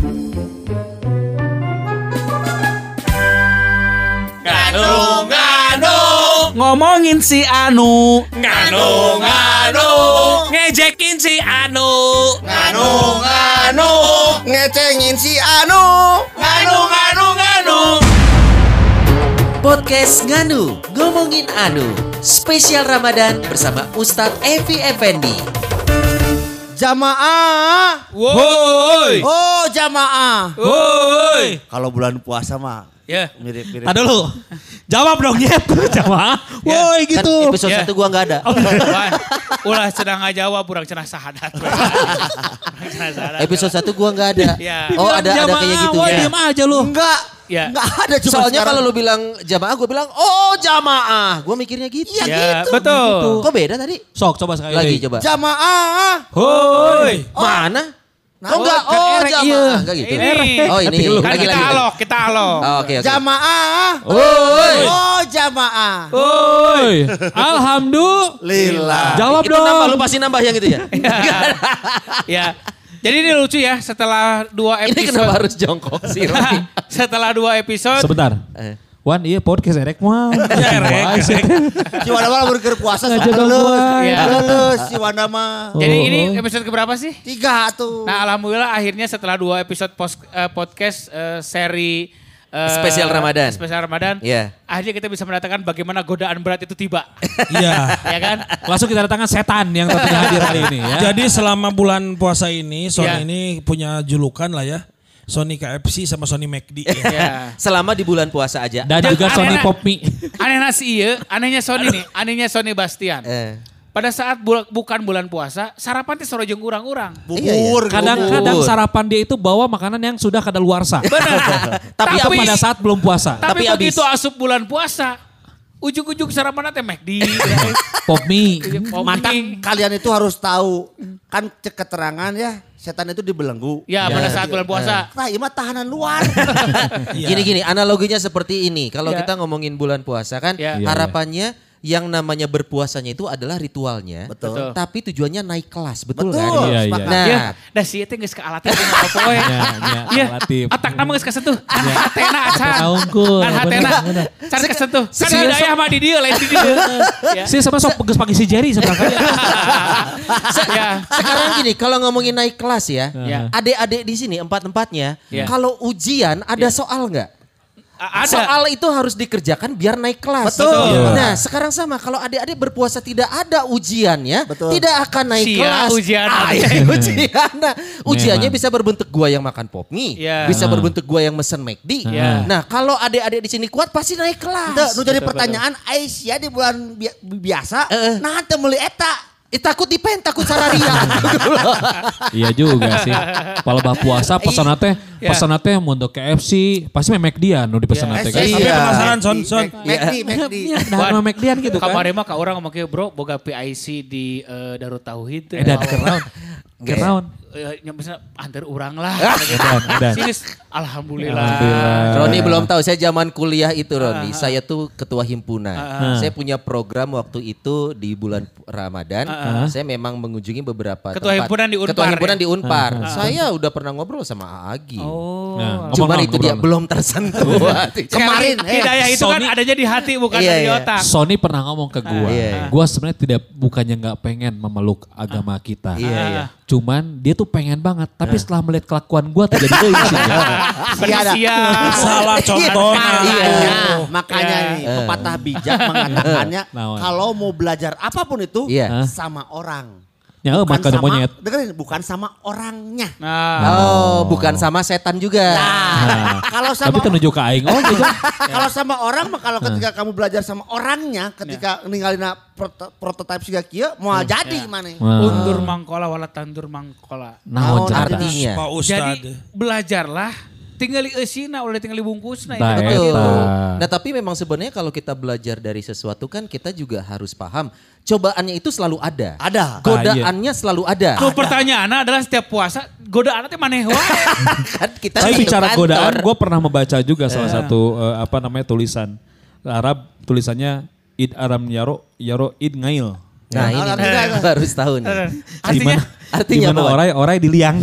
Ngomongin si Anu, Nganu ngejekin si Anu, ngecengin si Anu. Podcast Nganu, ngomongin Anu. Spesial Ramadan bersama Ustadz Evi Effendi. Jamaah. woi, Oh, jamaah. woi, Kalau bulan puasa mah ya, mirip-mirip. Ada lu. Jawab dong, Yep. Jawab. Woi Kan gitu. episode Ya. 1 gua gak ada. ulah cenah ngajawab, urang cenah sahadat. Episode 1 gua gak ada. Ya. Oh ada kayak gitu Woi, ya. diam aja lu. Enggak. Ya. Enggak ada cuma Soalnya sekarang. kalau lu bilang jamaah, gue bilang oh jamaah. Gue mikirnya gitu. Iya Ya, gitu. betul. Kok beda tadi? Sok coba sekali Lagi lagi. coba. Jamaah. Woi. Mana? Nah, Oh enggak, kan oh erek, jamaah. iya. Enggak gitu. Ini. Oh ini. Kan kita alok. Oh, oke. Jamaah. Woi. Oh, jamaah. Woi. Alhamdulillah. Lila. Jawab Itu dong. nambah, lu pasti nambah yang itu ya. Ya. Jadi ini lucu ya, setelah 2 Ini episode. kenapa harus jongkok sih? Roni? Setelah 2 episode. Sebentar. Wan, iya podcast erek mah. erek. Si Wanda mah burger puasa Ngajak soalnya gua. Iya. Lulus si Wanda mah. Jadi ini episode keberapa sih? 3 tuh. Nah, alhamdulillah akhirnya setelah 2 episode podcast seri Spesial Ramadan. Spesial Ramadan. Iya. Akhirnya kita bisa mendatangkan bagaimana godaan berat itu tiba. Iya. Ya kan? Langsung kita datangkan setan yang tentunya hadir hari ini ya. Jadi selama bulan puasa ini Sony Ya. ini punya julukan lah ya. Sony KFC sama Sony McD ya. Ya. Selama di bulan puasa aja. Dan juga Aneh- Sony Pop Mie. Anehnya sih iya, anehnya Sony nih, anehnya Sony Bastian. Pada saat bukan bulan puasa, sarapan teh sorojeng urang-urang. Bubur. Kadang-kadang sarapan dia itu bawa makanan yang sudah kadaluarsa. Benar. Tapi Itu pada saat belum puasa. Tapi Tapi begitu asup bulan puasa, ujung-ujung sarapan teh McD. Pop Mie. Mantap, kalian itu harus tahu. Kan keterangan ya, setan itu dibelenggu. Ya, pada saat bulan puasa. Nah, ini mah tahanan luar. Gini-gini, analoginya seperti ini. Kalau Ya. kita ngomongin bulan puasa kan, Ya. harapannya yang namanya berpuasanya itu adalah ritualnya. Betul. Tapi tujuannya naik kelas, betul, Betul. kan? Iya, iya. sepakat. Nah, Ya, dah sih itu geus ke alatnya apa poe. Iya, relatif. otak nama geus kesentuh. Kan hatena acan. Naungkul, Kan hatena. bener. Can kesentuh. Kan Sekarang- ada ayah mah di dieu lain di dieu. Ya. Sih sama sok geus panggil si Jerry sebenarnya. Ya. sekarang gini, kalau ngomongin naik kelas ya, Ya. adik-adik di sini empat-empatnya, Ya. kalau ujian ada soal nggak? Ada. Soal itu harus dikerjakan biar naik kelas. Betul. Iya. Nah, sekarang sama kalau adik-adik berpuasa tidak ada ujiannya, Betul. tidak akan naik Sia kelas. ujian. Iya, ujian. Nah, ujiannya Memang. bisa berbentuk gua yang makan pop mie, Iya. bisa berbentuk gua yang mesen McD. Iya. Nah, kalau adik-adik di sini kuat pasti naik kelas. Itu nu jadi pertanyaan Aisyah di bulan biasa, nah teu meuli eta. Takut dipen, takut sararia. Iya juga sih. Kalau bah puasa pesan teh, Iya. pesan teh mau untuk KFC, pasti meh McD-an nu dipesan teh. Iya. Tapi penasaran Son. McD. Nah, McD-an gitu kan. Kemarin mah ka orang ngomong kayak bro, boga PIC di Darut Tauhid. Dan kernaun. Kernaun. Misalnya antar orang lah. Edan. Sini, alhamdulillah. Alhamdulillah. Roni belum tahu, saya zaman kuliah itu Roni, saya tuh ketua himpunan. Saya punya program waktu itu di bulan Ramadan, saya memang mengunjungi beberapa Ketua tempat. himpunan di Unpar, Ketua himpunan ya? di Unpar. Saya udah pernah ngobrol sama Agi. Oh. Nah, Cuman ngomong itu dia ngobrol. belum tersentuh. Kemarin, hidayah itu kan Sony- adanya di hati bukan Iya, di iya. otak. Sony pernah ngomong ke gua, Iya. gua sebenarnya bukannya nggak pengen memeluk agama kita. Iya, iya. Cuman dia tuh pengen banget, tapi setelah melihat kelakuan gua terjadi tuh isinya. Penisia. Salah contohnya. Makanya, makanya nih pepatah bijak mengatakannya Naon? kalau mau belajar apapun itu Iya. sama orang. Ya, Bukan makan sama, monyet. dengerin, bukan sama orangnya. Nah, Oh, bukan sama setan juga. Nah, kalau sama Tapi tunjuk ke aing. Oh, gitu. kalau sama orang mah kalau ketika kamu belajar sama orangnya, ketika ninggalin prototipe siga kieu moal jadi mana? undur mangkola wala tandur mangkola. Naon Naon cerita. artinya? Pak Jadi Ustad. belajarlah tinggali eusina ulah tinggali bungkusna. Nah, Itu Betul. Eta. Nah, tapi memang sebenarnya kalau kita belajar dari sesuatu kan kita juga harus paham. Cobaannya itu selalu ada. Ada. Godaannya selalu ada. Tuh pertanyaannya adalah setiap puasa godaan teh maneh wae. Kan kita Tapi di bicara kantor. godaan, gue pernah membaca juga salah satu tulisan Arab, tulisannya id aram yaro id ngail. Nah ini baru setahun. Artinya Gimana orai diliang.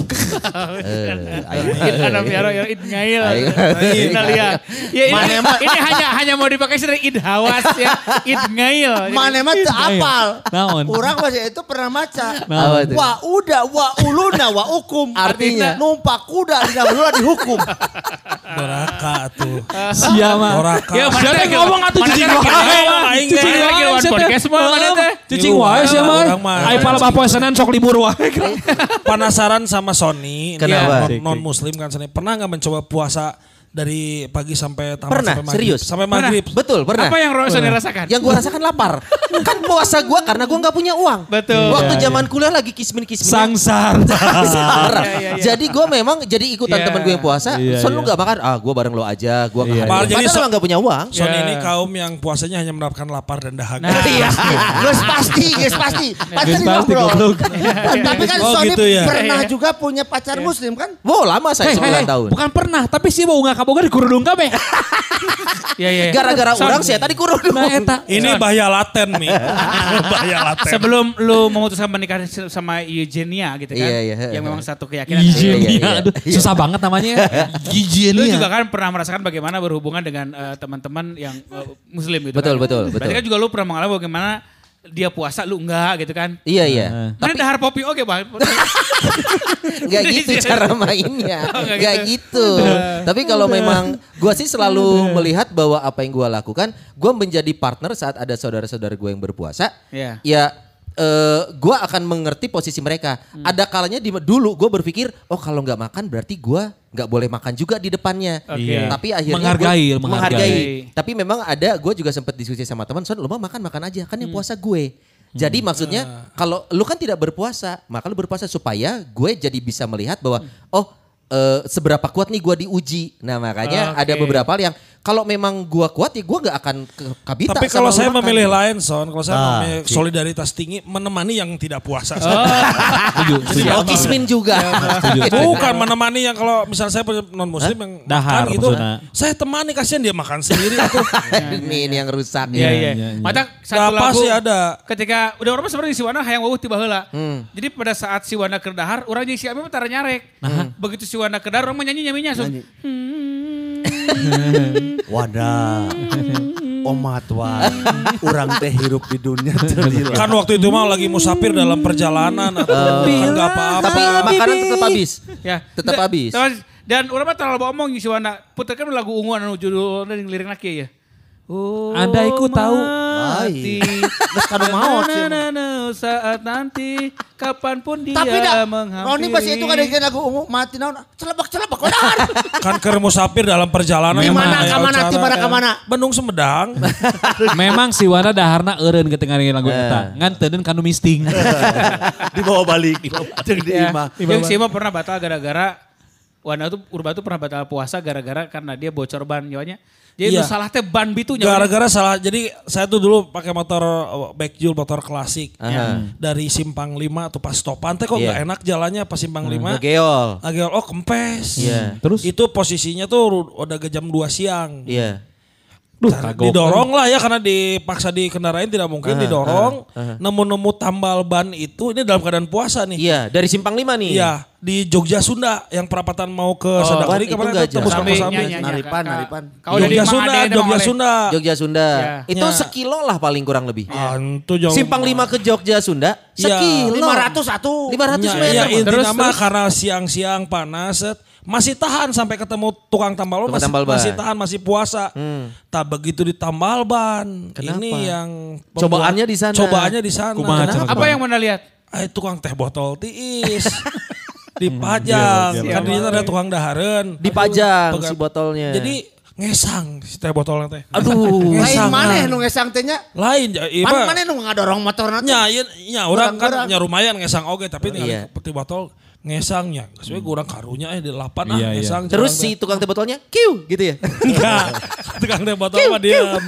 Ada piaro id ngail. Liang. Ya ini hanya mau dipakai sering id hawas ya. Id ngail. Mana mah teu apal. Naon? Urang masih itu pernah maca. Naon? Wa uda wa uluna wa hukum. Artinya numpak kuda di uluna dihukum. Doraka tuh. Siapa? Doraka. Ya mana Siapa ngomong atuh cicing wae. Cicing wae podcast mah mana teh. Cicing wae sia mah. Ai pala bapoe Senin sok libur wae. Penasaran sama Sony. Kenapa? Non muslim kan Sony. Pernah nggak mencoba puasa dari pagi sampai tamat Pernah, sampai maghrib? serius? Sampai maghrib. betul pernah. Apa yang Sony rasakan? Yang gue rasakan lapar. Kan puasa gue karena gue gak punya uang. Betul. Waktu zaman kuliah lagi kismin-kismin. Sangsar. Jadi gue memang jadi ikutan teman gue yang puasa. Son lu gak makan, gue bareng lo aja. Gue gak makan. Jadi Padahal emang gak punya uang. Sony ini kaum yang puasanya hanya mendapatkan lapar dan dahaga. Iya. Geus pasti. Pasti goblok. Tapi kan Oh, Sony gitu ya? pernah juga punya pacar muslim kan? Wow lama saya 9 tahun. Bukan pernah, tapi sih mau nggak kaboga di kurudung kabeh. Iya. Gara-gara orang saya tadi kurudung. Nah eta. Ini bahaya laten nih. Bahaya laten. Sebelum lu memutuskan menikah sama Eugenia gitu kan. Iya. Yang memang satu keyakinan. Iya. Aduh, susah banget namanya. Lu juga kan pernah merasakan bagaimana berhubungan dengan teman-teman yang muslim gitu Betul. kan. Berarti kan juga lu pernah mengalami bagaimana dia puasa lu enggak gitu kan. Iya. Mana dahar popi oke Bang. Gak gitu cara mainnya. Gak gitu. Tapi kalau memang gue sih selalu melihat bahwa apa yang gue lakukan, gue menjadi partner saat ada saudara-saudara gue yang berpuasa. Iya. Ya gue akan mengerti posisi mereka. Ada kalanya dulu gue berpikir, oh kalau nggak makan berarti gue nggak boleh makan juga di depannya. Oke. Tapi akhirnya Menghargai. menghargai. Tapi memang ada, gue juga sempat diskusi sama teman, Son lu mah makan aja, kan yang puasa gue. Jadi maksudnya kalau lu kan tidak berpuasa, maka lu berpuasa supaya gue jadi bisa melihat bahwa seberapa kuat nih gue diuji. Nah makanya ada beberapa hal yang kalau memang gue kuat ya gue gak akan kabita. Tapi kalau saya memilih lain Son, kalau saya memilih solidaritas tinggi menemani yang tidak puasa. Oh kismin juga. Bukan menemani yang kalau misalnya saya non muslim yang Dahar makan gitu. maksudnya. Saya temani kasihan dia makan sendiri. Ini yang rusak. Iya. Mata satu Gak lagu pasti ada. ketika udah orang sebenarnya si Wana hayang wawuh tiba heula. Jadi pada saat si Wana keur dahar, urang jeung si Abi mah tara nyarek. Begitu si Wana keur dahar urang mah nyanyi-nyanyinya langsung. Wadah. Omat wan. Urang teh hirup di dunia terlila. Kan waktu itu mah lagi musafir dalam perjalanan atau enggak apa-apa. Tapi makanan tetap habis. Ya. Tetap habis. Dan urang mah terlalu omong si Wana. Puterkan lagu ungu anu judulna jeung lirikna kieu ya. Andai ku tahu. Mati. Geus kanu maot sih. Saat nanti kapanpun dia Tapi dah, menghampiri. Roni pas itu kan ada lagu ungu mati naon. Celebak wadah. Kan keur musafir dalam perjalanan. Di mana Aya ka mana acara, ti mana ka mana. Bandung Sumedang. Memang si Wana daharna eureun ketika ngarengin lagu eta. Ngan teuneun kanu misting. Dibawa balik. Jeung di imah. Yang si Ima pernah batal gara-gara Wana tuh Urba tuh pernah batal puasa gara-gara karena dia bocor ban nyawanya. Jadi Iya. itu salah teh ban bitunya. Gara-gara salah. Jadi saya tuh dulu pakai motor backjul, motor klasik. Dari Simpang 5 atau pas stopan teh kok nggak enak jalannya pas Simpang 5. Geol. Oh kempes. Iya. Terus? Itu posisinya tuh udah ke jam 2 siang. Iya. Didorong lah ya karena dipaksa dikendarain tidak mungkin didorong. Nemu-nemu tambal ban itu ini dalam keadaan puasa nih. Iya, dari Simpang 5 nih. Iya, di Jogja Sunda yang perapatan mau ke Sadakari itu kemana nggak itu tembus jauh. ke Kosambi. Naripan. Jogja Sunda, Jogja Sunda. Jogja Sunda. Ya. Itu sekilo lah paling kurang lebih. Antu jauh. Simpang 5 ke Jogja Sunda sekilo. 500 atuh. 500 Ya, meter. ya Bang. intinya mah karena siang-siang panas masih tahan sampai ketemu tukang tambal ban, Tukang tambal ban. masih tahan, masih puasa. Tak begitu di tambal ban. Kenapa? Ini yang Cobaannya di sana. Cobaannya di sana. Kumaha cara Apa yang mana lihat? Tukang teh botol tiis. Dipajang. Kan di sana ada tukang dahareun. Dipajang Pegang. si botolnya. Jadi ngesang si teh botolnya teh. aduh. Lain Ngesang, maneh ah. nu ngesang teh nya. Lain Maneh nu ngadorong motorna teh. nya orang kan nya lumayan ngesang oge tapi Iya. tinggal peti botol ngesangnya. Sesuai kurang karunya di 8 Iya, iya. ngesang. Terus si tukang teh botolnya, kiu gitu ya. enggak. Tukang teh botol mah diam.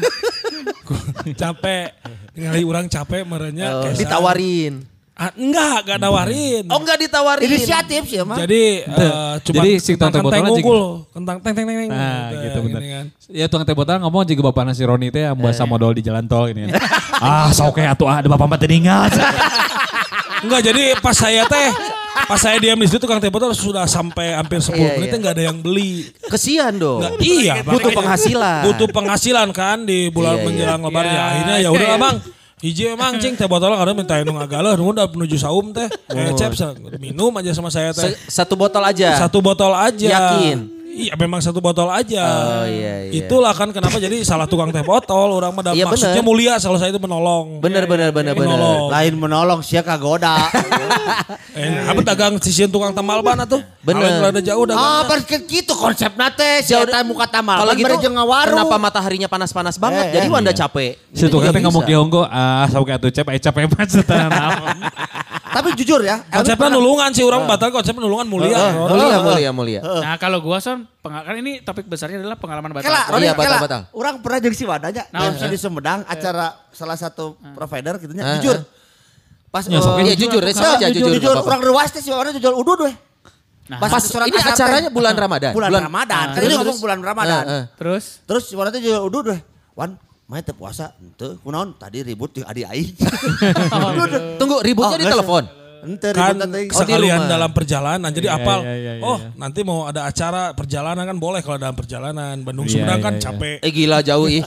Capek. Ningali orang capek merenya Oh, kesang. ditawarin. Enggak nawarin. Oh enggak ditawarin. Inisiatif sih mah. Jadi cuma Jadi si tukang teh kentang botolnya unggul, kentang teng teng teng. Nah gitu bener. Gini kan. Ya tukang teh botol ngomong juga bapakna si Roni teh yang bahasa modal di jalan tol ini. Sok kayak atuh ada bapak mati ingat. Enggak, jadi pas saya diam di situ tukang teh botol sudah sampai hampir 10 menit nggak ada yang beli. Kesian dong. Nggak, iya, butuh makanya penghasilan. Butuh penghasilan kan di bulan menjelang lebaran ya. Akhirnya ya udah Bang. Hiji emang cing teh botol karena minta nu ngagalah nu udah menuju saum teh. Cep minum aja sama saya teh. Satu botol aja. Satu botol aja. Yakin? Iya memang satu botol aja. Oh iya. Itulah kan kenapa jadi salah tukang teh botol. Orang mah Iya, maksudnya bener. mulia kalau saya itu menolong. Bener. Menolong. Lain menolong sia kagoda. Apa dagang sisian tukang tamal ban atuh? Bener. Awet rada jauh dagang. Gitu konsepna teh. Sia teh muka tamal. Kalau gitu jeung ngawaru. kenapa mataharinya panas-panas banget? Jadi Wanda capek. Si tukang teh ngomong Bisa. ke Honggo, sok kayak atuh capek banget setelah naon. Tapi jujur ya. Konsepnya nulungan sih orang batal konsepnya nulungan mulia. Mulia. Nah kalau gua Son, kan ini topik besarnya adalah pengalaman batal. Kela, puasa. Roni, Iya, batal. Orang pernah jeung si Wadanya. MC di Sumedang, acara salah satu provider gitu nya. Jujur. Pas Iya jujur, resep aja jujur. Jujur, nggak apa-apa. orang rewas teh si Wadanya jual udud weh. Pas ini acaranya bulan Ramadan. Bulan Ramadan. Kan ini ngomong bulan Ramadan. Terus? Terus si Wadanya jual udud weh. Wan, main teh puasa. Henteu, kunaon tadi ribut jeung adik aing. Tunggu, ributnya di telepon. Henteu Kan ribut teh. sekalian dalam perjalanan jadi apal. iya. Nanti mau ada acara perjalanan kan boleh kalau dalam perjalanan. Bandung Sumedang kan capek. Gila jauh ih.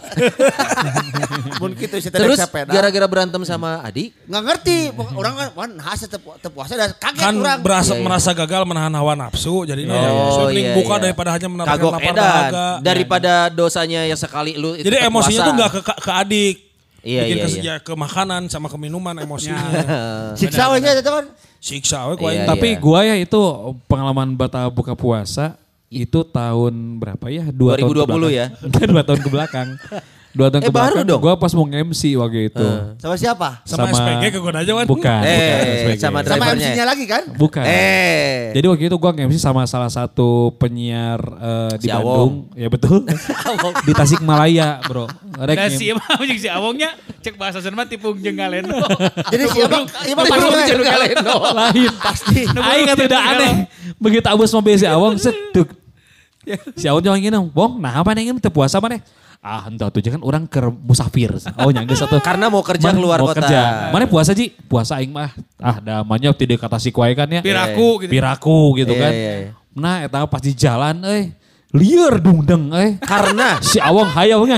Mun kitu si teh Terus sepeda. gara-gara berantem sama adik. Nggak ngerti. Orang kan wan hase teu puasa dan kaget Kan urang. merasa gagal menahan hawa nafsu jadi mending buka daripada hanya mendapatkan Kagok lapar edan. dahaga. Daripada dosanya yang sekali lu itu Jadi tetap emosinya puasa. tuh nggak ke adik. Bikin Iya. ke makanan sama ke minuman emosinya. Siksa we nya eta kan. Siksa we ku Iya. aing. Tapi gua ya itu pengalaman batal buka puasa itu tahun berapa ya? 2020 ya? 2 tahun ke belakang. 2 tahun ke baru belakang. dong. Gua pas mau MC waktu itu. Sama siapa? Sama SPG kegoda aja Wan. Bukan SPG. sama Sama drivernya. MC-nya lagi kan? Bukan. Eh. Jadi waktu itu gua MC sama salah satu penyiar di Si Bandung. Ya betul. Di Tasikmalaya, Bro. Rek Nah ngem- si emang jeung si Awongnya cek bahasa Sunda tipung jeung galeno. Jadi siapa? Ibu Tipung pasti jeung galeno. lain pasti. Aing kata udah aneh. Begitu abus mobil si Awong seduk. Si Awong jangan gini, Bong, nah apa nih teu puasa mana? Entah tuh kan orang ke musafir. Oh nyangga satu. Karena mau kerja keluar mau kota. Kerja. Mana puasa Ji? Puasa aing mah. Damanya tidak kata si kuai kan ya. Piraku gitu. Piraku gitu kan. Iya. Nah eta pas di jalan liar dungdeng Karena si Awong hayang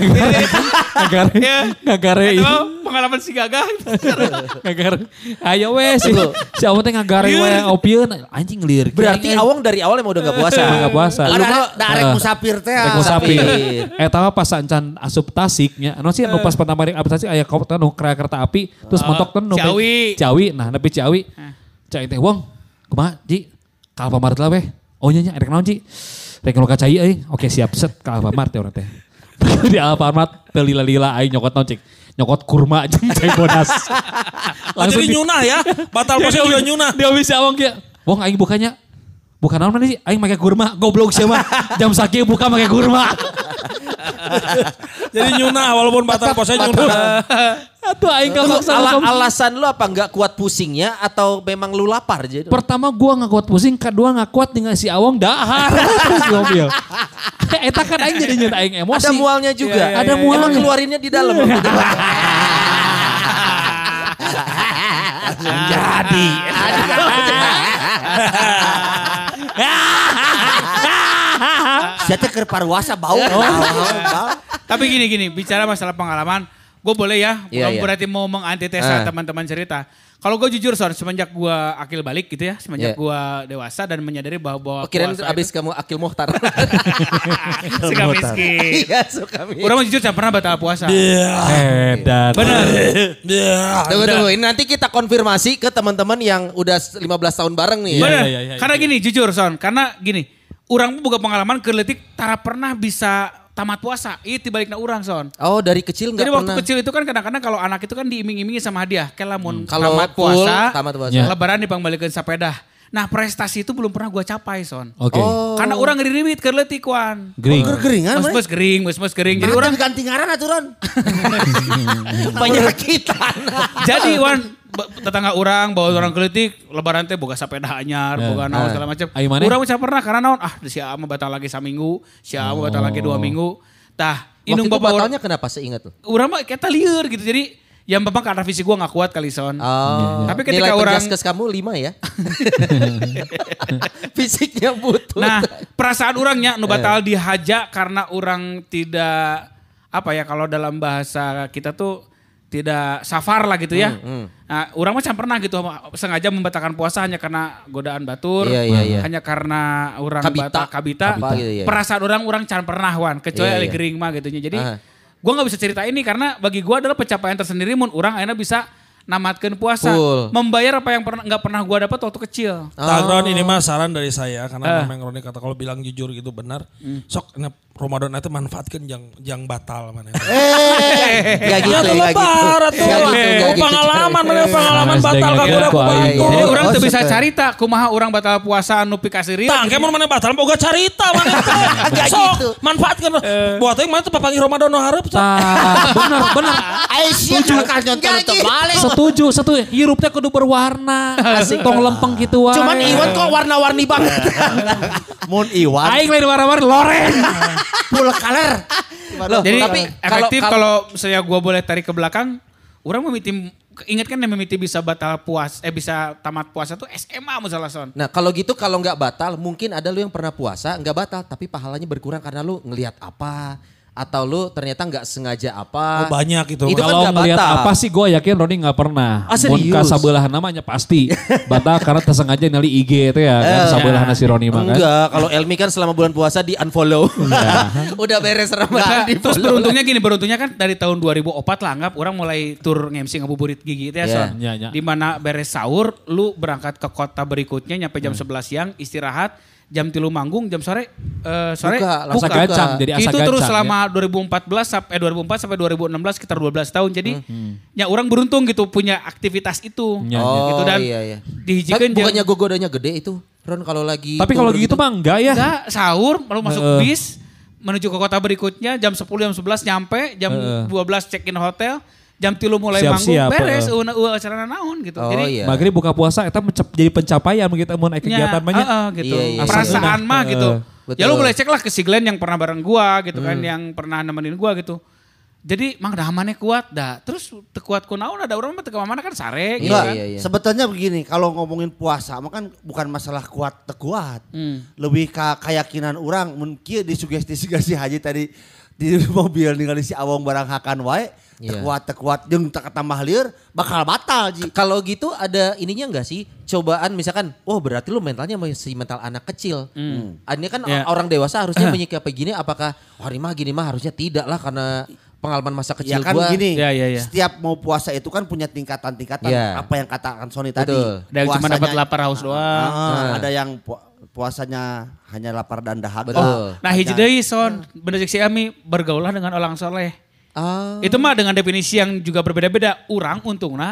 ngagare Itu pengalaman si Gagah. ngagare ayo we si Awong teh ngagare we opieun anjing liar. berarti Awong dari awal emang udah gak puasa. Gak puasa. Lu mah arek musafir teh. Rek musafir. Eta mah pas encan asup Tasik nya. Anu sih anu pas pertama rek asup Tasik aya kereta api terus mentok teh Ciawi. Nah nepi Ciawi. Cai teh Wong. Kumaha Ji? Ka Alfamart lah weh. Oh nya rek naon Ji? Rek nu ka cai euy. Oke siap set ka Alfamart ya urang teh. Di Alfamart teu lila-lila aing nyokot naon cik. Nyokot kurma jeung cai bodas. Jadi nyunah ya. Batal puasa juga nyunah. Dia bisa Awong kieu. Wong aing bukanya bukan naon mana sih? Aing make kurma, goblok sih mah. Jam sakieu buka make kurma. Jadi nyunah walaupun batal puasa nyunah. Atuh aing kamaksa. Alasan lu apa nggak kuat pusingnya atau memang lu lapar jadi? Pertama gua nggak kuat pusing, kedua nggak kuat dengan si Awong dahar terus di mobil. Eta kan aing jadi nyata aing emosi. Ada mualnya juga. Ada mualnya. Emang keluarinnya di dalam. Jadi. Sia teh keur paruasa bau. Tapi gini, bicara masalah pengalaman, gue boleh ya, Iya, bukan iya. berarti mau mengantitesa teman-teman cerita. Kalau gue jujur Son, semenjak gue akil balik gitu ya, semenjak Iya. gue dewasa dan menyadari bahwa Kirain puasa abis kamu Akil Mohtar. suka miskin. Iya suka miskin. Orang jujur saya pernah batal puasa. Edan. Benar. Tunggu. Ini nanti kita konfirmasi ke teman-teman yang udah 15 tahun bareng nih. Benar. iya. Karena gini, jujur Son, karena gini, orang pun buka pengalaman keletik tara pernah bisa tamat puasa. Itu tibalikna orang Son. Oh dari kecil nggak Jadi pernah. waktu kecil itu kan kadang-kadang kalau anak itu kan diiming-imingi sama hadiah. Kayak lamun Kalau tamat full, puasa, tamat puasa. Ya. lebaran dipangbalikan sepeda. Nah prestasi itu belum pernah gue capai Son. Oke. Karena orang ngeriwit ke letik Wan. Gering. Geringan Mus gering, mus gering. Jadi orang diganti ngaran aturan. Penyakitan. jadi Wan tetangga orang bawa orang keletik lebaran teh boga sepeda anyar, boga naon segala macam. Ayo mana? Urang bisa pernah karena naon si ama batal lagi saminggu, si ama batal lagi 2 minggu. Tah Waktu inung itu bapak batalnya kenapa seingat lu? urang mah kita lieur gitu. Jadi Ya memang karena fisik gue gak kuat kali Son. Tapi ketika nilai orang penjaskes kamu 5 ya. Fisiknya butuh. Nah, perasaan orangnya nu batal dihaja karena orang tidak apa ya kalau dalam bahasa kita tuh tidak safar lah gitu ya. Nah, orang macam pernah gitu sengaja membatalkan puasa hanya karena godaan batur, hanya karena orang batal kabita. Gitu, perasaan orang can pernah wan, kecuali ada gering mah gitu. Jadi gue nggak bisa cerita ini karena bagi gue adalah pencapaian tersendiri mun orang akhirnya bisa namatkan puasa, membayar apa yang nggak pernah gue dapat waktu kecil. Tagron ini mah saran dari saya karena memang Roni kata kalau bilang jujur gitu benar. Sok Ramadan itu manfaatkan yang batal mana. Gak gitu, gak gitu. Pengalaman batal kagak udah kubantu. Jadi orang tuh bisa carita kumaha orang batal puasa anu pikasiri. Tang kemun mana batal boga carita mana. Sok manfaatkan. Buat yang mana tuh papangi Ramadan no hareup. Bener. Aisyah kan nyonton terbalik. Setuju. Hirupnya kudu berwarna. Asik tong lempeng gitu wae. Cuman Iwan kok warna-warni banget. Mun Iwan. Aing lain warna-warni loren. Full color. Jadi tapi efektif kalau saya gua boleh tarik ke belakang, orang memiti ingat kan memiti bisa batal bisa tamat puasa tuh SMA misalnya Son. Nah kalau gitu kalau nggak batal mungkin ada lu yang pernah puasa nggak batal tapi pahalanya berkurang karena lu ngelihat apa atau lu ternyata nggak sengaja apa. Banyak itu. Itu kalau kan ngelihat batal. apa sih gue yakin Roni nggak pernah. Serius? Mun sabelah namanya pasti batal karena tersengaja nali IG itu ya kan sabelah si Roni mah kan. Enggak, kalau Elmi kan selama bulan puasa di unfollow. Udah beres Ramadan di Terus beruntungnya kan dari tahun 2004 lah anggap orang mulai tur nge-MC ngabuburit gigi itu ya Son. Di mana beres sahur lu berangkat ke kota berikutnya nyampe jam 11 siang istirahat. Jam 3 manggung, jam sore buka. Gacang, jadi asa itu gacang. Terus selama 2004 sampai 2016 sekitar 12 tahun. Jadi ya orang beruntung gitu punya aktivitas itu. Gitu dan dihijikeun bukannya gogodanya gede itu. Ron kalau lagi tapi kalau gitu mah enggak ya. Enggak, sahur lalu masuk bis menuju ke kota berikutnya jam 10 jam 11 nyampe, jam 12 check in hotel. Jam 3 mulai manggung beres acara naon gitu. Jadi maghrib buka puasa eta jadi pencapaian begitu mun kegiatan banyak. Gitu. Perasaan mah gitu. Betul. Ya lu boleh cek lah ke si Glenn yang pernah bareng gua gitu kan yang pernah nemenin gua gitu. Jadi mang dahamannya kuat dah. Terus tekuat kunaon ada orang mah teu mana kan sare gitu kan. Sebetulnya begini, kalau ngomongin puasa mah kan bukan masalah kuat tekuat. Lebih ke keyakinan orang mungkin disugesti haji tadi di mobil ningali si Awong barang hakan wae. Tekuat jeung tambah lieur bakal batal Ji. Kalau gitu ada ininya enggak sih? Cobaan misalkan, berarti lu mentalnya masih mental anak kecil. Ini kan orang dewasa harusnya menyikapi gini, apakah hari mah gini mah harusnya tidak lah karena pengalaman masa kecil kan gua. Gini, setiap mau puasa itu kan punya tingkatan-tingkatan. Apa yang katakan Sony tadi. Ada yang cuma dapat lapar haus doang. Ada yang puasanya hanya lapar dan dahaga. Nah hiji deui Son, bener si Ami bergaulah dengan orang soleh. Itu mah dengan definisi yang juga berbeda-beda. Urang untungna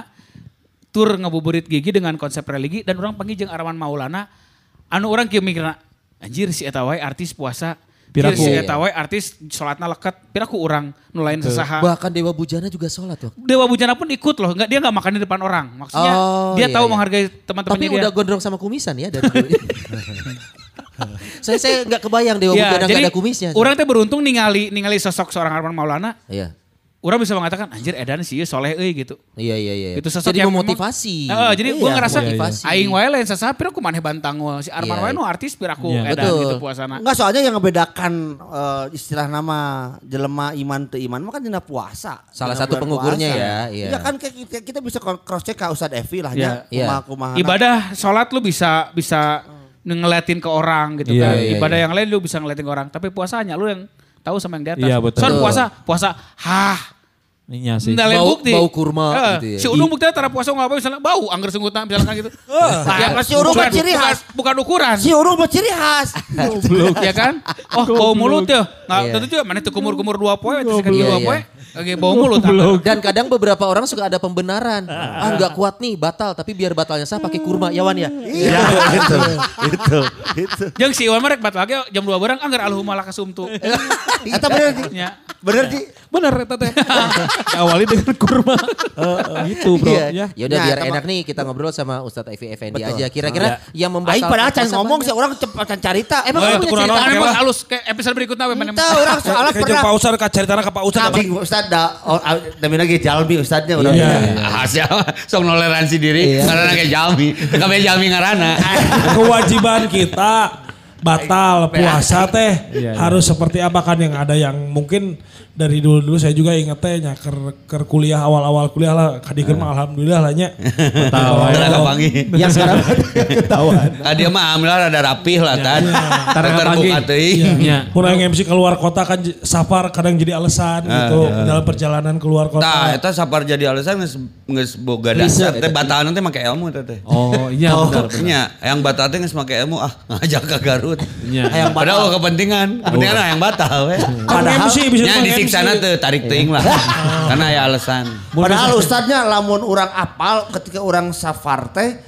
tur ngabuburit gigi dengan konsep religi dan orang panggil jeung Arman Maulana. Anu orang kieu mikirna anjir si eta wae artis puasa. Piraku si eta wae artis salatna leket. Piraku urang nu lain sasaha. Bahkan Dewa Bujana juga sholat tuh. Dewa Bujana pun ikut loh. Dia enggak makan di depan orang. Maksudnya dia tahu menghargai teman-temannya dia. Tapi udah gondrong sama kumisan ya dari dulu. Saya enggak kebayang Dewa Bujana enggak ada kumisnya. Orang teh beruntung ningali sosok seorang Arman Maulana. Iya. Orang bisa mengatakan anjir edan sih soleh gitu. Iya. Itu sosok jadi yang memotivasi. Jadi gue ngerasa aing wae lain sasaha pira ku maneh bantang si Arman wae nu artis pira ku edan gitu puasana. Enggak, soalnya yang ngebedakan istilah nama jelema iman teu iman mah kan dina puasa. Salah satu pengugurnya ya. Iya kan kita bisa cross check ka Ustaz Evi lah ya. Kumaha. Ibadah salat lu bisa ngeliatin ke orang gitu kan. Ibadah yang lain lu bisa ngeliatin ke orang, tapi puasanya lu yang tahu sama yang di atas. Iya, betul. Soal puasa Iya sih. Bau kurma gitu ya. Si Udung buktinya tara puasa ngapa misalnya bau anggar senggutna misalkan gitu. Si Udung mah ciri khas. Bukan ukuran. Si Udung mah ciri khas. Ya kan? Bau mulut ya. Nah, tentu juga mana itu kumur-kumur 2 poe itu sekali 2 poe. Oke, bau mulut. Dan kadang beberapa orang suka ada pembenaran. Enggak kuat nih, batal, tapi biar batalnya sah pakai kurma, ya Wan ya. Iya, itu. Jeung si Iwan mah rek batal lagi jam 2 bareng anggar alhumma lakasumtu. Eta bener. Bener Ji. Bener eta teh. Awali dengan kurma. Gitu bro. Ya udah Nah, biar sama- enak nih kita ngobrol sama Ustadz Evi Effendi Betul. aja. Kira-kira yang membatalkan Aing padahal can puasa ngomong banyak. sih orang cepat carita. Emang Oh, kamu itu punya kurang cerita? naon, Karena Oke mah lah. halus ke episode berikutnya we mana. Entah orang soalnya Kayak jeung pernah. Pak Ustad caritana ka Pak Ustad. Tapi Ustad demi lagi Jalmi Ustadnya udah. Hasil sok toleransi diri karena kayak Jalmi. Kabeh Jalmi ngaranna. Kewajiban kita batal puasa teh Iya. harus seperti apa kan yang ada yang mungkin dari dulu saya juga inget teh nya ker kuliah awal-awal kuliah lah kadikeun mah alhamdulillah lah nya. Tara kapangi. Yang sekarang ketahuan. Dia mah alhamdulillah rada rapih lah tan. Tara Terbuka kapangi. teuing. Iya. Mun yang MC keluar kota kan safar kadang jadi alasan gitu dalam perjalanan keluar kota. Tah eta sapar jadi alasan geus boga dasar teh batalan teh make ilmu teh. Oh iya benar. Nya yang batal teh geus make ilmu ngajak ke Garut. Iya. Padahal kepentingan yang batal we. Kan MC bisa Nya dipakai disiksa MC. teh tarik teuing lah. Karena ya alasan. Padahal Ustadnya lamun orang apal ketika orang safar teh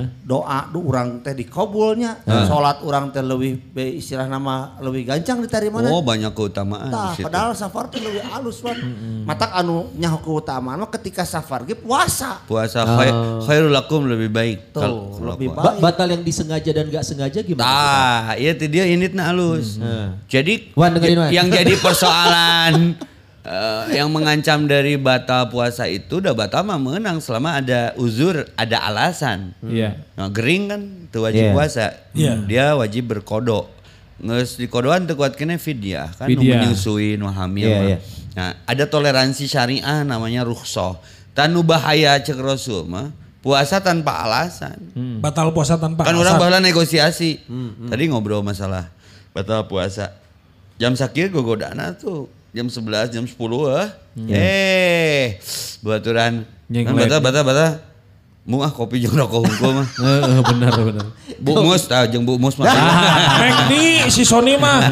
doa orang teh dikabulnya. Salat orang teh leuwih istilah nama leuwih gancang diterima. Oh banyak keutamaan Tah, di situ. padahal safar teh leuwih alus wan. Matak anu nyaho keutamaan mah ketika safar ge puasa. Puasa khairul lakum lebih baik. Tuh, lebih puasa. baik. Batal yang disengaja dan gak sengaja gimana? Tah, iya teh dia initna halus. Jadi Wan, dengerin, Wan. yang jadi persoalan yang mengancam dari batal puasa itu udah batal mah menang selama ada uzur, ada alasan. Iya. Nah, gering kan tuh wajib puasa. Iya. Dia wajib berkodok. Nges di kodoan teu kuat kena fidyah kan nu Fidyah. menyusui nu hamil Iya, mah. iya. Nah, ada toleransi syariah namanya rukhsah. Tanu bahaya cek Rasul mah puasa tanpa alasan. Batal puasa tanpa Kan alasan. orang baheula negosiasi. Tadi ngobrol masalah batal puasa. Jam sakit gogodana tuh. Jam 11, jam 10 baturan. Nyeng Kan lek. bata. Mu kopi jeung rokok hungkul mah. Benar. Bu Mus jeung Bu Mus mah. Mek di si Sony mah.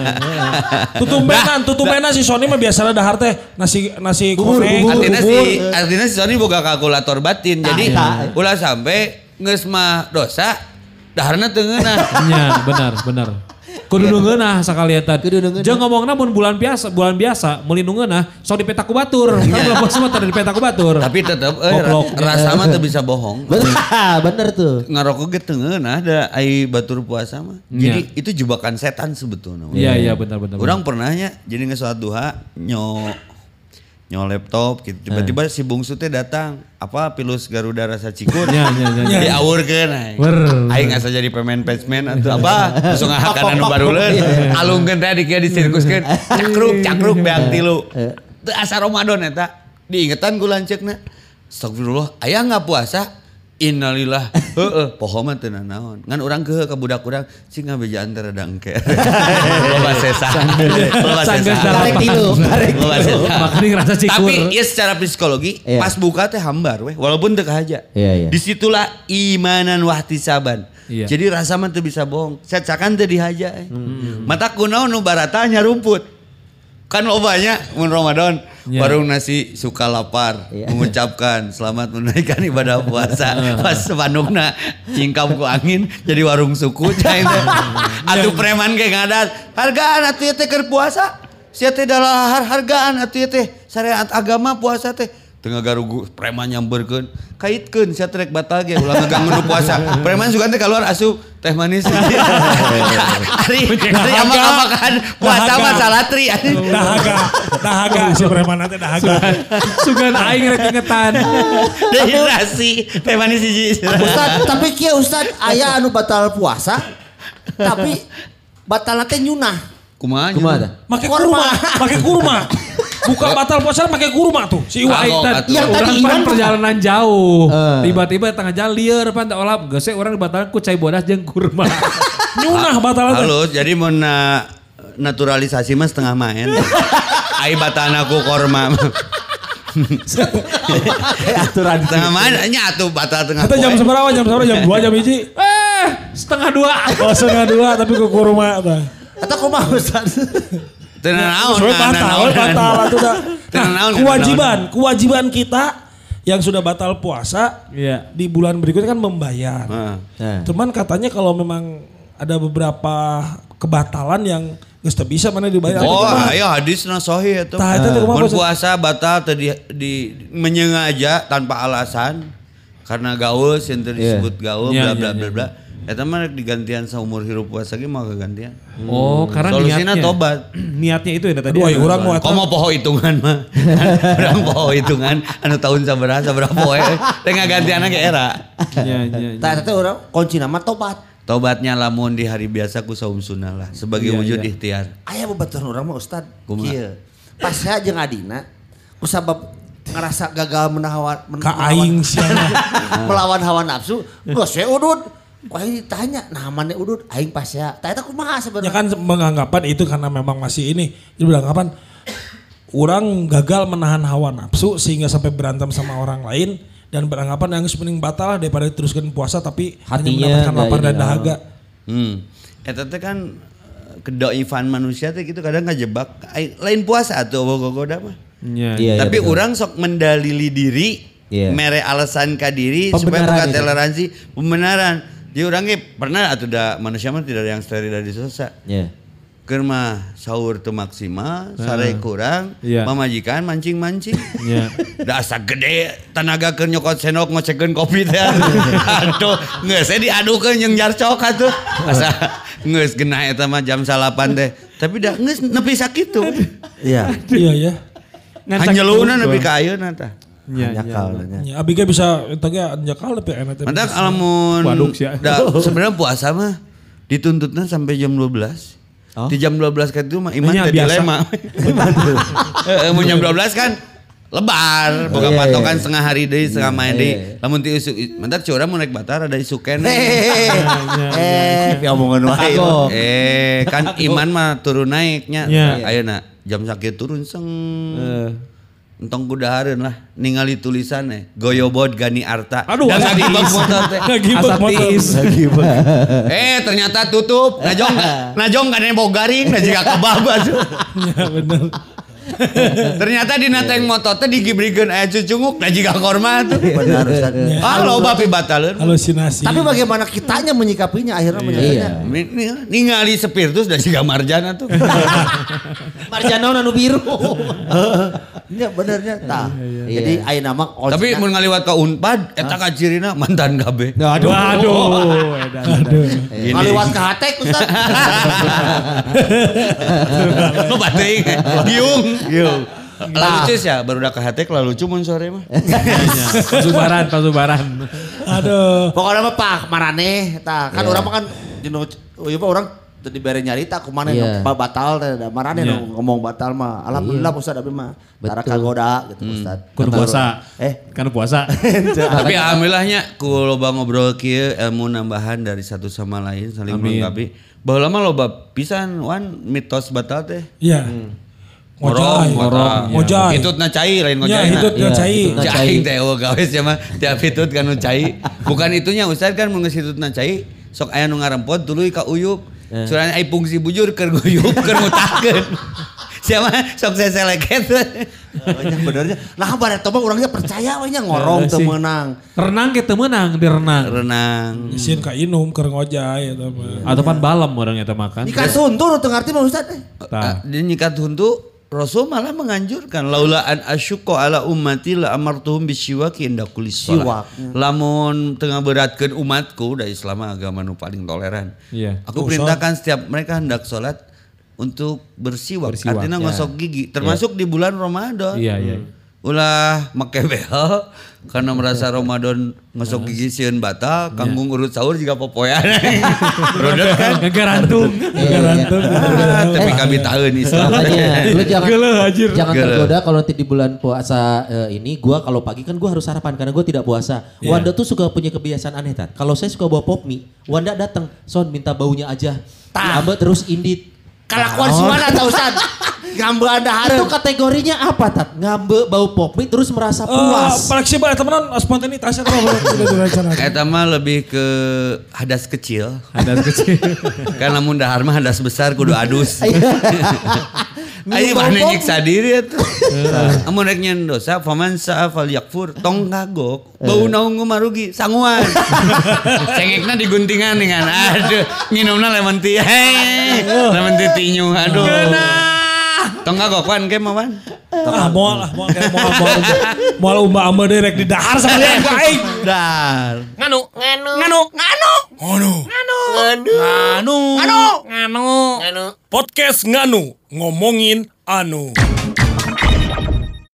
Tutumbenan si Sony mah biasanya dahar teh nasi konek. Artinya si Sony boga kalkulator batin. Jadi ulah sampai geus mah dosa daharna teu ngeunah. Iya benar. Kudu ngeunah sakalian tadi. Kudu ngeunah. Jeung ngomongna mun bulan biasa meuli nu ngeunah sok dipeta ku batur. Kan bulan puasa mah teu dipeta ku batur. Tapi tetep Goblok. rasa mah teu bisa bohong. Bener tuh. Ngarokok ge teu ngeunah da ai batur puasa mah. Iya. Jadi itu jebakan setan sebetulnya. Iya benar. Orang pernahnya jadi nge sholat duha nyo laptop gitu. Tiba-tiba si bungsu teh datang. Apa pilus Garuda rasa cikur. Iya. Diawurkeun aing. Aing asa jadi pemain patchman atau apa. Langsung ngahakan anu baruleun. Alungkeun teh di kieu disirkuskeun. Cakruk beak tilu. Teu asa Ramadan eta. Diingetan ku lanceukna. Astagfirullah, aya enggak puasa? Innalillah. Heeh, poho mah teu naon. Ngan urang keuh ka budak urang sing ngabejaan teh rada engke. Loba sesa. Loba Sanggeus sesa. Karek tilu. Loba sesa. Makanya ngerasa cikur. Tapi ya secara psikologi Iya. pas buka teh hambar weh walaupun teu kahaja. Iya. Disitulah imanan wahtisaban. Iya. Jadi rasa mah teu bisa bohong. Cacakan teu dihaja. Mata kunaon nu barata nya rumput. Kan lobanya mun Ramadan Iya. warung nasi suka lapar Iya. mengucapkan selamat menunaikan ibadah puasa. Pas sepanukna cingkam ku angin jadi warung suku cai teh. Atuh preman ge ngadat, hargaan atuh teh keur puasa. Sia teh dalahar hargaan atuh teh syariat agama puasa teh. Tengah garugu preman nyamberkeun, kaitkeun sia trek batal ge ulah ngeganggu nu puasa. Preman juga teh keluar asup teh manis. Ari amak-amakan puasa mah salatri. Dahaga si preman teh dahaga. Sugan aing rek ingetan. Dehidrasi teh manis hiji. Ustad, tapi kieu Ustad aya anu batal puasa. Tapi batal teh nyunah. Kumaha? Make kurma. Buka batal puasa make kurma tuh. Si Iwa. Kagok, atuh. Yang tadi Orang Iwan pan perjalanan jauh. Tiba-tiba tengah jalan lieur pan teh olap geus orang dibatalkan ku cai bodas jeung kurma. Nyunah batal teh. Halus, jadi mau naturalisasi mah setengah main. Ai batana ku korma. aturan Setengah main nya atuh batal tengah. Kita jam seberapa? Jam 2, jam 1. Setengah 2. Oh, setengah 2 tapi ke kurma tah. atau kumaha Ustad? Teu naon. Soalnya batal atuh dah. Tenang, Kewajiban kita yang sudah batal puasa Iya. di bulan berikutnya kan membayar. Heeh. Nah. Cuman katanya kalau memang ada beberapa kebatalan yang geus teu bisa mana dibayar. Oh, ayo hadisna sahih eta. Tah eta teh kumaha? Mun puasa batal tadi di menyengaja tanpa alasan karena gaul yang disebut gaul bla bla bla bla. Eta mah digantian saumur hirup puasa ge mah kegantian. Oh, karena Solusina niatnya. tobat. Niatnya itu ya tadi. Aduh, urang mau eta. Komo poho hitungan mah. Urang poho hitungan anu tahun sabaraha poe. Teh ngagantianna ge era. Iya. Tah eta urang kunci nama tobat. Tobatnya lamun di hari biasa ku saum sunnah lah sebagai wujud ikhtiar. Aya babaturan urang mah Ustad. Kumaha? Kieu. Pas saya jeung adina kusabab ngerasa gagal Aing siana. melawan hawa nafsu, geus we udud. Kok ditanya, nah mana udud aing pas ya. Tah eta kumaha Ya sebenarnya? kan menganggapan itu karena memang masih ini. Dia beranggapan orang gagal menahan hawa nafsu sehingga sampai berantem sama orang lain dan beranggapan yang mending batal lah daripada teruskan puasa tapi Hatinya hanya mendapatkan nggak lapar dan ini, dahaga. Eta teh kan kedoifan manusia teh gitu kadang ngajebak. Lain puasa atuh gogoda mah. Iya, Tapi betul. orang sok mendalili diri, Iya. mere alasan ka diri supaya Pembenaran buka itu. toleransi, pembenaran. Jadi orangnya pernah atau manusia mah tidak ada yang steril dari dosa. Iya. Keur mah sahur teu maksimal, sare kurang, Iya. mamajikan mancing-mancing. Iya. Da asa gede tenaga keur nyokot sendok ngocekeun kopi teh. Aduh, geus diadukeun jeung jarcok atuh. Asa geus genah eta mah jam 8 teh. Tapi da geus nepi sakitu. Iya. Iya ya. Hanjeluna nepi ka ayeuna tah. Nyakal. Ya abi ge bisa eta ge anjakal tapi enak teh. Mantap alamun Waduk sia. sebenarnya puasa mah dituntutnya sampai jam 12. Oh. Di jam 12 kan itu mah iman Nya teh biasa. dilema. Mun jam 12 kan lebar, boga patokan setengah hari deui, setengah main deui. Lamun ti isuk, mantap curang mun naik batar ada isuk keneh. Omongan wae. Kan iman mah turun naiknya. Iya. Ayeuna jam sakit turun seng. Entong kudahareun lah ningali tulisannya Goyobot Gani Arta. Aduh, dan asa ngagibak tiis. motor teh. Ngagibak motor. Ternyata tutup. Najong kan yang bogaring, nah jika kebabas. Ya bener. Ternyata di nateng motor teh digibrikeun aya cucunguk, nah jika korma tuh. Benar Ustad. Halo bapi bataleur. Halusinasi. Tapi bagaimana kitanya menyikapinya akhirnya menyikapinya. Ningali spiritus dan jika marjana tuh. Marjana anu biru. Iya benernya tah. Jadi ayeuna mah Tapi mun ngaliwat ka Unpad eta ka cirina mantan KB. Aduh. ngaliwat ka hatek Ustad. Lo bateing giung. Lalu ya baru udah ke hatek lalu lucu mun sore mah. Pasubaran. Aduh. Pokoknya mah Pak Marane tah kan urang mah kan dino ieu mah urang teu dibere nyarita kumaha Iya. batal teh da Marane nu ngomong batal mah. Alhamdulillah Ustad abi mah. Tara kagoda gitu Ustad. Kudu puasa. Kan puasa. Tapi alhamdulillahnya ku loba ngobrol kieu ilmu nambahan dari satu sama lain saling Amin. melengkapi. Baheula mah loba pisan wan mitos batal teh. Iya. Ngorong. Ngojay. Hitutna cai lain Ya ngojayna. itu dia Iya, cai. hitutna cai. Cai teh gawe sia mah tiap hitut kan nu cai. Bukan itunya Ustaz kan mun geus hitutna cai sok aya nu ngarempot tuluy ka uyup. Soalnya ai fungsi bujur keur guyup keur ngutakeun. Sia mah sok seseleket. Benernya. Nah baret mah urangnya percaya we nya ngorong teu meunang. Renang kita menang di renang. Renang. Isin ka inum keur ngojay eta mah. Atau pan balam orang eta makan. Jika suntur teu ngarti mah Ustad. Di nyikat huntu Rasul malah menganjurkan laula an asyqa ala ummati la amartuhum bisyiwaki inda kulli shalah. Lamun tengah beratkeun umatku da Islam agama nu paling toleran. Iya. Aku perintahkan setiap mereka hendak salat untuk bersiwak. Artinya ngosok gigi termasuk di bulan Ramadan. Iya. Ulah make behel karena merasa Ramadan ngosok gigi sieun batal, kanggung urut sahur juga popoyan. Rodot kan Ngegarantung. tapi kami tahu Islam. Makanya lu jangan Geuleuh. tergoda kalau nanti di bulan puasa ini gua kalau pagi kan gua harus sarapan karena gua tidak puasa. Wanda tuh suka punya kebiasaan aneh Tat. Kalau saya suka bawa pop mie, Wanda datang, "Son minta baunya aja." Ambe terus indit. Kalakuan si mana tah Ustad? Ngambe anda Itu hareup. kategorinya apa Tat? Ngambe bau pop mie terus merasa puas. Fleksibel teman spontanitas eta mah udah direncanakan. Eta mah lebih ke hadas kecil. Ada kecil. Kan lamun dahar mah hadas besar kudu adus. Ayo mana nyiksa diri atuh. Amun rek nyen dosa faman sa'a falyakfur tong kagok. Bau naung marugi sanguan. Cengekna diguntingan dengan aduh nginumna lemon tea. Lemon tea tinyu aduh. Tong kagok pan ke mawan. Moal umba-umba direk di dahar sekalian ku aing. Dar. Nganu. Podcast Nganu ngomongin anu.